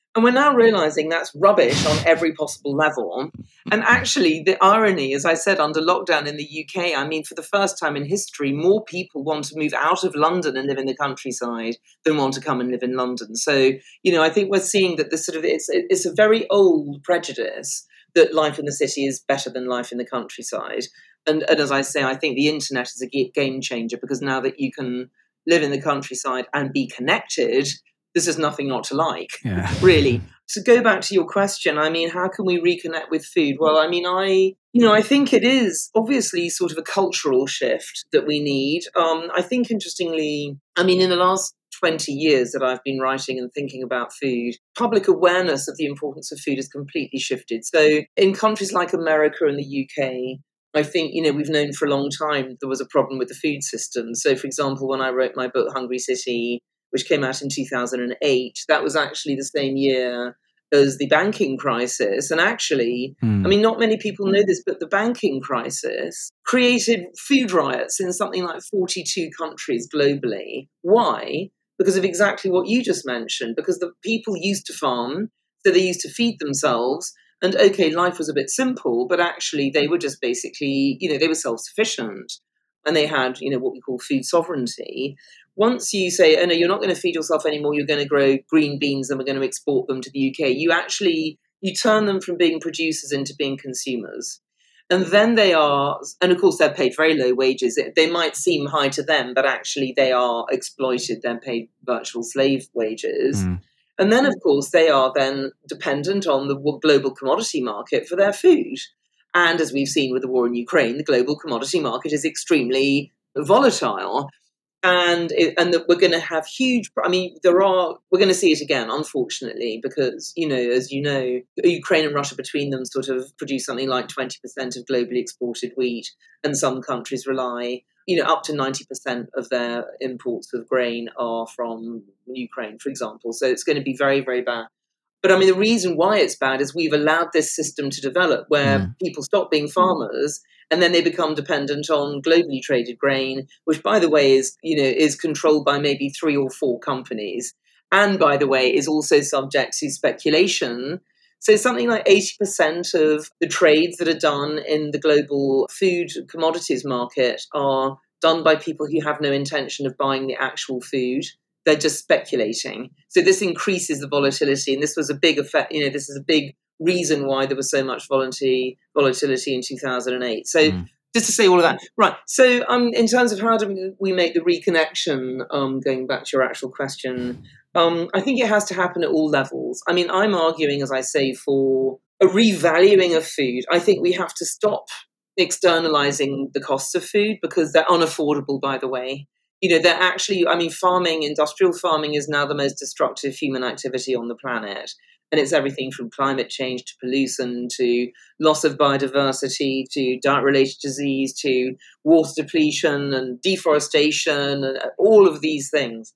And we're now realizing that's rubbish on every possible level. And actually, the irony, as I said, under lockdown in the U K, I mean, for the first time in history, more people want to move out of London and live in the countryside than want to come and live in London. So, you know, I think we're seeing that this sort of, it's, it's a very old prejudice that life in the city is better than life in the countryside. And, and as I say, I think the internet is a game changer, because now that you can live in the countryside and be connected, this is nothing not to like, yeah. really. To go back to your question, I mean, how can we reconnect with food? Well, I mean, I, you know, I think it is obviously sort of a cultural shift that we need. Um, I think, interestingly, I mean, in the last twenty years that I've been writing and thinking about food, public awareness of the importance of food has completely shifted. So in countries like America and the U K, I think, you know, we've known for a long time there was a problem with the food system. So, for example, when I wrote my book, Hungry City, which came out in two thousand eight, that was actually the same year as the banking crisis. And actually, mm. I mean, not many people know this, but the banking crisis created food riots in something like forty-two countries globally. Why? Because of exactly what you just mentioned, because the people used to farm, so they used to feed themselves. And okay, life was a bit simple, but actually they were just basically, you know, they were self-sufficient. And they had, you know, what we call food sovereignty. Once you say, oh, no, you're not going to feed yourself anymore, you're going to grow green beans and we're going to export them to the U K, you actually, you turn them from being producers into being consumers. And then they are, and of course, they're paid very low wages. They might seem high to them, but actually they are exploited. They're paid virtual slave wages. Mm. And then, of course, they are then dependent on the global commodity market for their food. And as we've seen with the war in Ukraine, the global commodity market is extremely volatile. And it, and that we're going to have huge, I mean, there are, we're going to see it again, unfortunately, because, you know, as you know, Ukraine and Russia between them sort of produce something like twenty percent of globally exported wheat. And some countries rely, you know, up to ninety percent of their imports of grain are from Ukraine, for example. So it's going to be very, very bad. But I mean, the reason why it's bad is we've allowed this system to develop where mm. people stop being farmers and then they become dependent on globally traded grain, which, by the way, is, you know, is controlled by maybe three or four companies. And, by the way, is also subject to speculation. So something like eighty percent of the trades that are done in the global food commodities market are done by people who have no intention of buying the actual food. They're just speculating. So this increases the volatility. And this was a big effect, you know, this is a big reason why there was so much volatility volatility in two thousand eight. So mm. just to say all of that. Right. So um, in terms of how do we make the reconnection, um, going back to your actual question, um, I think it has to happen at all levels. I mean, I'm arguing, as I say, for a revaluing of food. I think we have to stop externalizing the costs of food because they're unaffordable, by the way. You know, they're actually, I mean, farming, industrial farming is now the most destructive human activity on the planet. And it's everything from climate change to pollution to loss of biodiversity to diet-related disease to water depletion and deforestation and all of these things.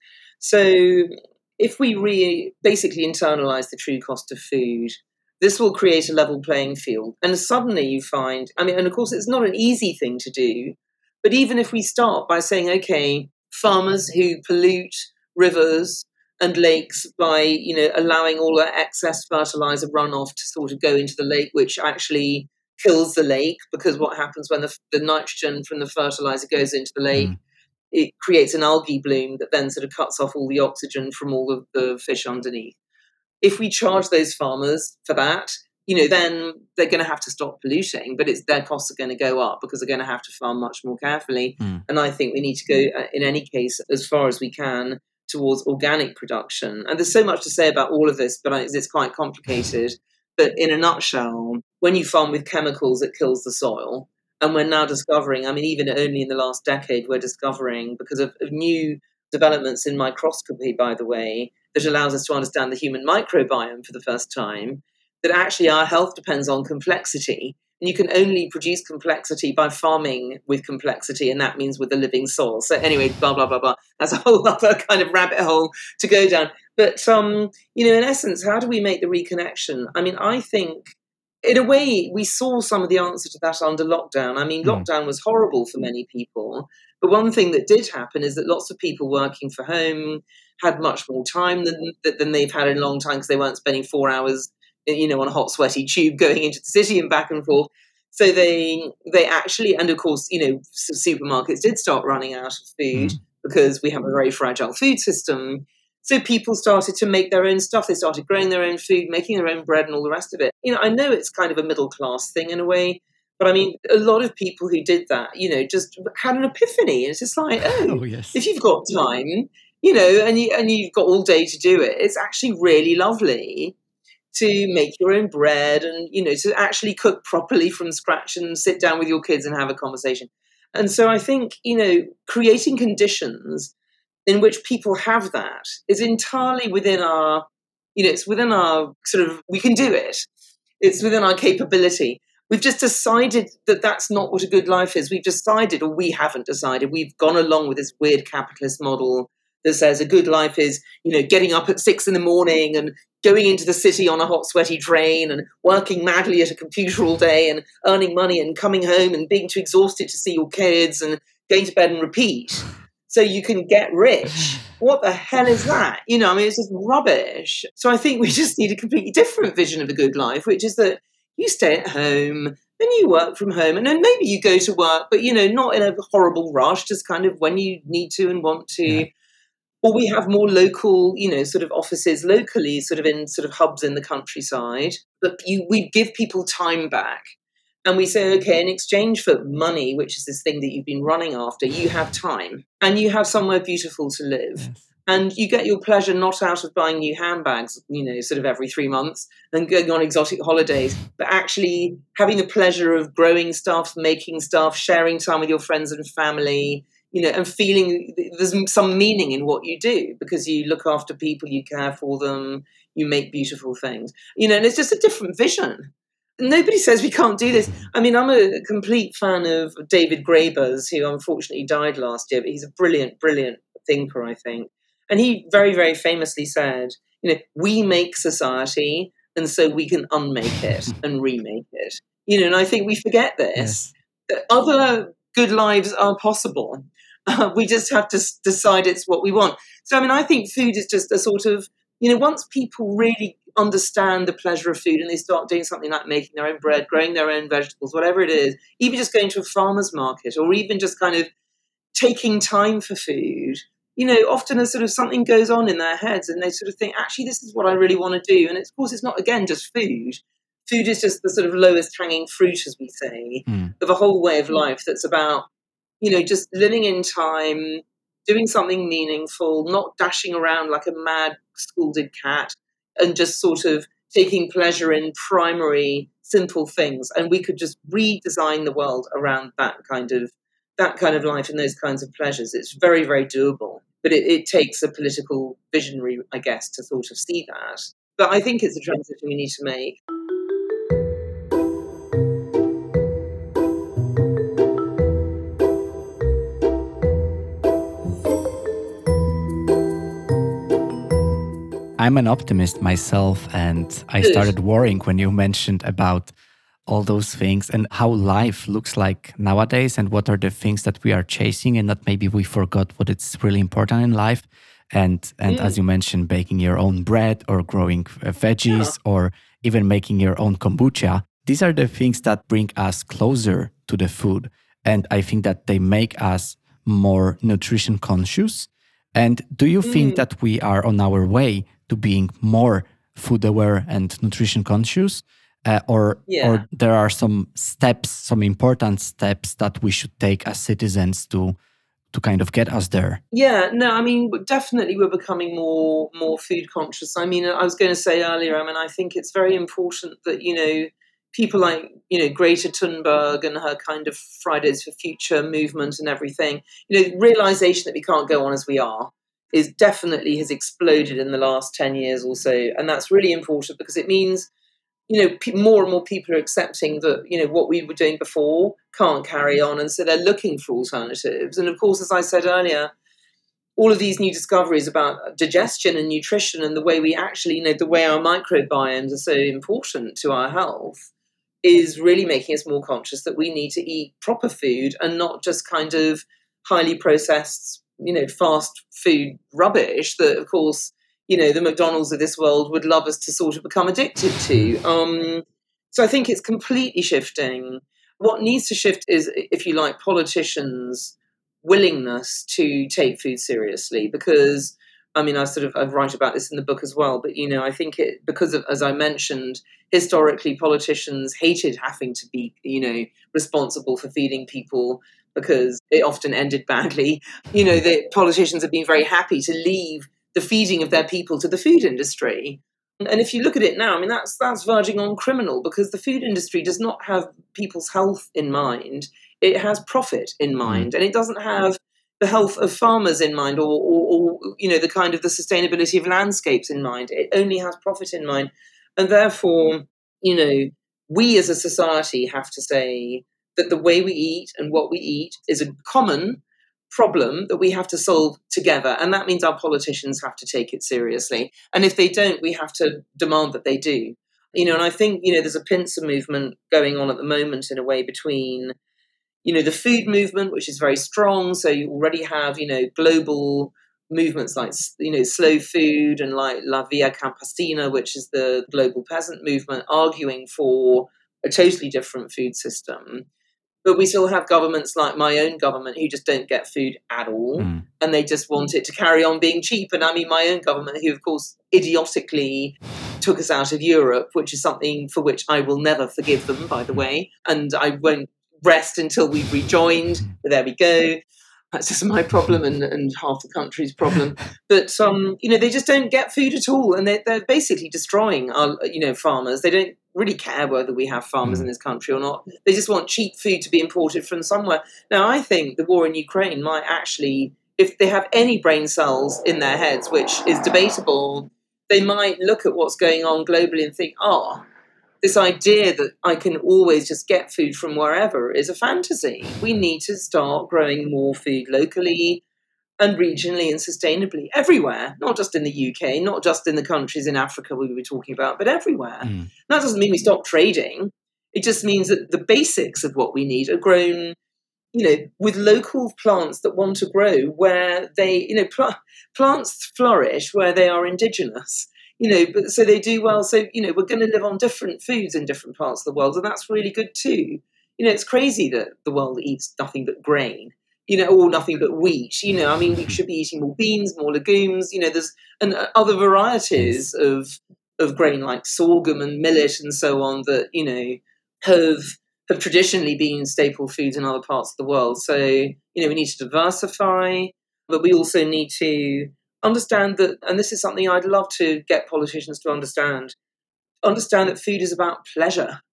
So if we re- basically internalize the true cost of food, this will create a level playing field. And suddenly you find, I mean, and of course, it's not an easy thing to do. But even if we start by saying, okay, farmers who pollute rivers and lakes by, you know, allowing all that excess fertilizer runoff to sort of go into the lake, which actually kills the lake, because what happens when the, the nitrogen from the fertilizer goes into the lake, mm. it creates an algae bloom that then sort of cuts off all the oxygen from all of the fish underneath. If we charge those farmers for that, you know, then they're going to have to stop polluting, but it's their costs are going to go up because they're going to have to farm much more carefully. Mm. And I think we need to go, uh, in any case, as far as we can, towards organic production. And there's so much to say about all of this, but it's quite complicated. But in a nutshell, when you farm with chemicals, it kills the soil. And we're now discovering, I mean, even only in the last decade, we're discovering, because of, of new developments in microscopy, by the way, that allows us to understand the human microbiome for the first time, that actually our health depends on complexity. And you can only produce complexity by farming with complexity, and that means with a living soil. So anyway, blah, blah, blah, blah. That's a whole other kind of rabbit hole to go down. But, um, you know, in essence, how do we make the reconnection? I mean, I think, in a way, we saw some of the answer to that under lockdown. I mean, mm. lockdown was horrible for many people. But one thing that did happen is that lots of people working from home had much more time than than they've had in a long time because they weren't spending four hours, you know, on a hot, sweaty tube going into the city and back and forth. So they they actually, and of course, you know, supermarkets did start running out of food mm. because we have a very fragile food system. So people started to make their own stuff. They started growing their own food, making their own bread and all the rest of it. You know, I know it's kind of a middle class thing in a way, but I mean, a lot of people who did that, you know, just had an epiphany. It's just like, oh, oh yes. If you've got time, you know, and, you, and you've got all day to do it, it's actually really lovely to make your own bread and, you know, to actually cook properly from scratch and sit down with your kids and have a conversation. And so I think, you know, creating conditions in which people have that is entirely within our, you know, it's within our sort of, we can do it. It's within our capability. We've just decided that that's not what a good life is. We've decided, or we haven't decided, we've gone along with this weird capitalist model that says a good life is, you know, getting up at six in the morning and going into the city on a hot, sweaty train and working madly at a computer all day and earning money and coming home and being too exhausted to see your kids and going to bed and repeat. So you can get rich. What the hell is that? You know, I mean, it's just rubbish. So I think we just need a completely different vision of a good life, which is that you stay at home and you work from home and then maybe you go to work, but, you know, not in a horrible rush, just kind of when you need to and want to. Yeah. Or we have more local, you know, sort of offices locally, sort of in sort of hubs in the countryside. But you, we give people time back. And we say, okay, in exchange for money, which is this thing that you've been running after, you have time and you have somewhere beautiful to live. Yes. And you get your pleasure not out of buying new handbags, you know, sort of every three months and going on exotic holidays, but actually having the pleasure of growing stuff, making stuff, sharing time with your friends and family, you know, and feeling there's some meaning in what you do because you look after people, you care for them, you make beautiful things, you know, and it's just a different vision. Nobody says we can't do this. I mean, I'm a complete fan of David Graeber's, who unfortunately died last year, but he's a brilliant, brilliant thinker, I think. And he very, very famously said, you know, we make society and so we can unmake it and remake it. You know, and I think we forget this. Yes. Other good lives are possible. Uh, we just have to s- decide it's what we want. So, I mean, I think food is just a sort of, you know, once people really understand the pleasure of food and they start doing something like making their own bread, growing their own vegetables, whatever it is, even just going to a farmer's market or even just kind of taking time for food, you know, often a sort of something goes on in their heads and they sort of think, actually, this is what I really want to do. And it's, of course, it's not, again, just food. Food is just the sort of lowest hanging fruit, as we say, mm. of a whole way of life that's about, you know, just living in time, doing something meaningful, not dashing around like a mad scalded cat, and just sort of taking pleasure in primary, simple things. And we could just redesign the world around that kind of that kind of life and those kinds of pleasures. It's very, very doable. But it, it takes a political visionary, I guess, to sort of see that. But I think it's a transition we need to make. I'm an optimist myself, and I started worrying when you mentioned about all those things and how life looks like nowadays and what are the things that we are chasing and that maybe we forgot what is really important in life. And and mm. as you mentioned, baking your own bread or growing veggies yeah. or even making your own kombucha. These are the things that bring us closer to the food. And I think that they make us more nutrition conscious. And do you mm. think that we are on our way to being more food aware and nutrition conscious? Uh, or, yeah. or there are some steps, some important steps that we should take as citizens to to kind of get us there? Yeah, no, I mean, definitely we're becoming more more food conscious. I mean, I was going to say earlier, I mean, I think it's very important that, you know, people like, you know, Greta Thunberg and her kind of Fridays for Future movement and everything, you know, realization that we can't go on as we are is definitely has exploded in the last ten years or so. And that's really important because it means, you know, p- more and more people are accepting that, you know, what we were doing before can't carry on. And so they're looking for alternatives. And of course, as I said earlier, all of these new discoveries about digestion and nutrition and the way we actually, you know, the way our microbiomes are so important to our health is really making us more conscious that we need to eat proper food and not just kind of highly processed you know, fast food rubbish that, of course, you know, the McDonald's of this world would love us to sort of become addicted to. Um, so I think it's completely shifting. What needs to shift is, if you like, politicians' willingness to take food seriously, because I mean, I sort of I write about this in the book as well, but you know, I think it because of, as I mentioned, historically politicians hated having to be, you know, responsible for feeding people because it often ended badly. You know, the politicians have been very happy to leave the feeding of their people to the food industry. And if you look at it now, I mean, that's that's verging on criminal, because the food industry does not have people's health in mind. It has profit in mind, and it doesn't have the health of farmers in mind, or, or, or you know, the kind of the sustainability of landscapes in mind. It only has profit in mind. And therefore, you know, we as a society have to say that the way we eat and what we eat is a common problem that we have to solve together. And that means our politicians have to take it seriously. And if they don't, we have to demand that they do. You know, and I think, you know, there's a pincer movement going on at the moment in a way between, you know, the food movement, which is very strong. So you already have, you know, global movements like, you know, slow food, and like La Via Campesina, which is the global peasant movement, arguing for a totally different food system. But we still have governments like my own government who just don't get food at all. Mm. And they just want it to carry on being cheap. And I mean, my own government, who, of course, idiotically took us out of Europe, which is something for which I will never forgive them, by the way. And I won't rest until we've rejoined. But there we go. That's just my problem and, and half the country's problem. But, um, you know, they just don't get food at all. And they're, they're basically destroying our, you know, farmers. They don't really care whether we have farmers mm. in this country or not. They just want cheap food to be imported from somewhere. Now, I think the war in Ukraine might actually, if they have any brain cells in their heads, which is debatable, they might look at what's going on globally and think, oh, this idea that I can always just get food from wherever is a fantasy. We need to start growing more food locally and regionally and sustainably everywhere, not just in the U K, not just in the countries in Africa we were talking about, but everywhere. Mm. That doesn't mean we stop trading. It just means that the basics of what we need are grown, you know, with local plants that want to grow where they, you know, pl- plants flourish where they are indigenous. You know, but so they do well. So, you know, we're going to live on different foods in different parts of the world, and that's really good too. You know, it's crazy that the world eats nothing but grain, you know, or nothing but wheat. You know, I mean, we should be eating more beans, more legumes. You know, there's and other varieties of of grain like sorghum and millet and so on that, you know, have have traditionally been staple foods in other parts of the world. So, you know, we need to diversify, but we also need to understand that, and this is something I'd love to get politicians to understand, understand that food is about pleasure.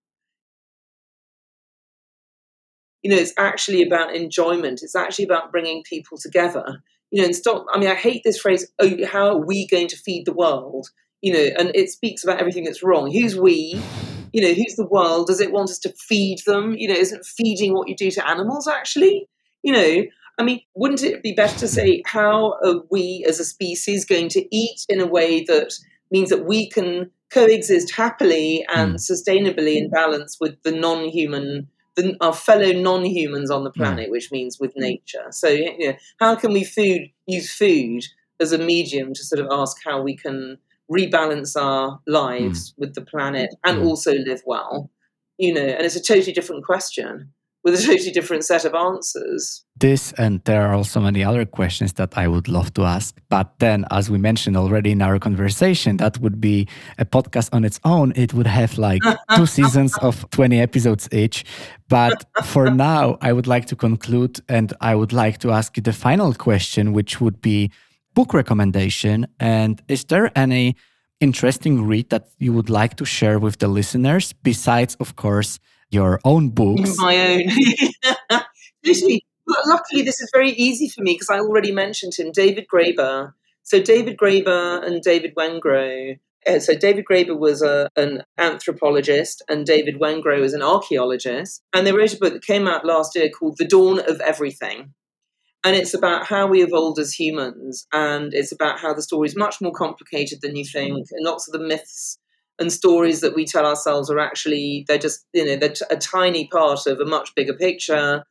You know, it's actually about enjoyment. It's actually about bringing people together. You know, and stop, I mean, I hate this phrase, oh, how are we going to feed the world? You know, and it speaks about everything that's wrong. Who's we? You know, who's the world? Does it want us to feed them? You know, isn't feeding what you do to animals, actually? You know, I mean, wouldn't it be better to say, how are we as a species going to eat in a way that means that we can coexist happily and mm. sustainably in balance with the non-human, the, our fellow non-humans on the planet, mm. which means with nature? So, you know, how can we food use food as a medium to sort of ask how we can rebalance our lives mm. with the planet and mm. also live well? You know, and it's a totally different question with a totally different set of answers. This, and there are also many other questions that I would love to ask. But then, as we mentioned already in our conversation, that would be a podcast on its own. It would have like two seasons of twenty episodes each. But for now, I would like to conclude, and I would like to ask you the final question, which would be book recommendation. And is there any interesting read that you would like to share with the listeners, besides, of course, your own books? My own. Literally, luckily, this is very easy for me because I already mentioned him, David Graeber. So David Graeber and David Wengrow. Uh, so David Graeber was a, an anthropologist and David Wengrow is an archaeologist. And they wrote a book that came out last year called The Dawn of Everything. And it's about how we evolved as humans. And it's about how the story is much more complicated than you think. And lots of the myths and stories that we tell ourselves are actually, they're just, you know, they're t- a tiny part of a much bigger picture.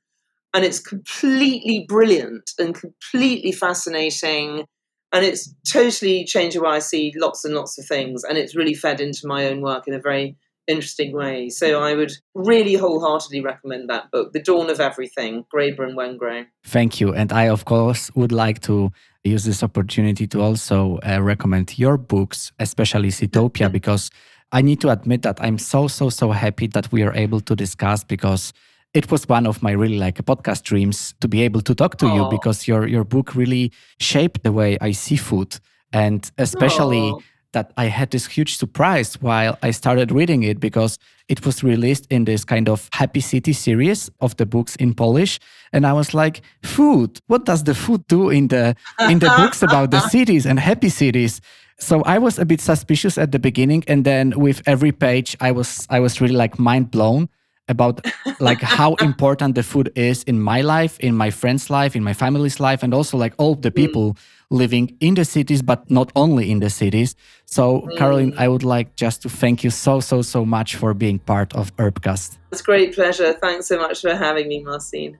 And it's completely brilliant and completely fascinating. And it's totally changed the way I see lots and lots of things. And it's really fed into my own work in a very interesting way. So I would really wholeheartedly recommend that book, The Dawn of Everything, Graeber and Wengrow. Thank you. And I, of course, would like to use this opportunity to also uh, recommend your books, especially Seatopia, because I need to admit that I'm so, so, so happy that we are able to discuss, because it was one of my really like podcast dreams to be able to talk to Aww. you, because your your book really shaped the way I see food. And especially Aww. that I had this huge surprise while I started reading it, because it was released in this kind of Happy City series of the books in Polish. And I was like, food, what does the food do in the in the books about the cities and happy cities? So I was a bit suspicious at the beginning. And then with every page, I was I was really like mind blown about like how important the food is in my life, in my friends' life, in my family's life, and also like all the people mm. living in the cities, but not only in the cities. So mm. Caroline, I would like just to thank you so, so, so much for being part of Herbcast. It's a great pleasure. Thanks so much for having me, Marcin.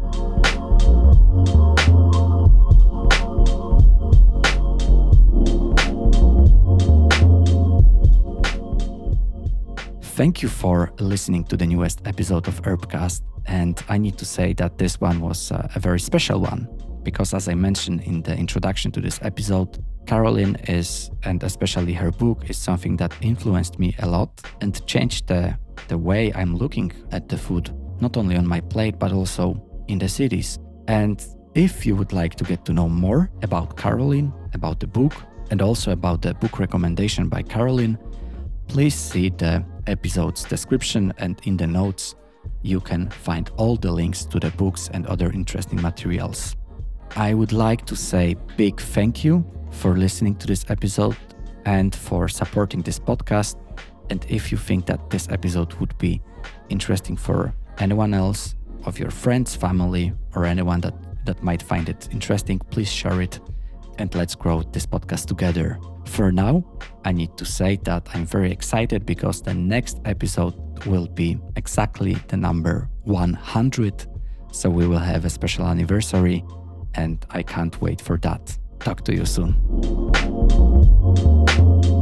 Thank you for listening to the newest episode of Herbcast. And I need to say that this one was uh, a very special one, because as I mentioned in the introduction to this episode, Caroline is, and especially her book, is something that influenced me a lot and changed the, the way I'm looking at the food, not only on my plate, but also in the cities. And if you would like to get to know more about Caroline, about the book, and also about the book recommendation by Caroline, please see the episode's description, and in the notes you can find all the links to the books and other interesting materials. I would like to say big thank you for listening to this episode and for supporting this podcast. And if you think that this episode would be interesting for anyone else, of your friends, family, or anyone that, that might find it interesting, please share it and let's grow this podcast together. For now, I need to say that I'm very excited, because the next episode will be exactly the number one hundred. So we will have a special anniversary, and I can't wait for that. Talk to you soon.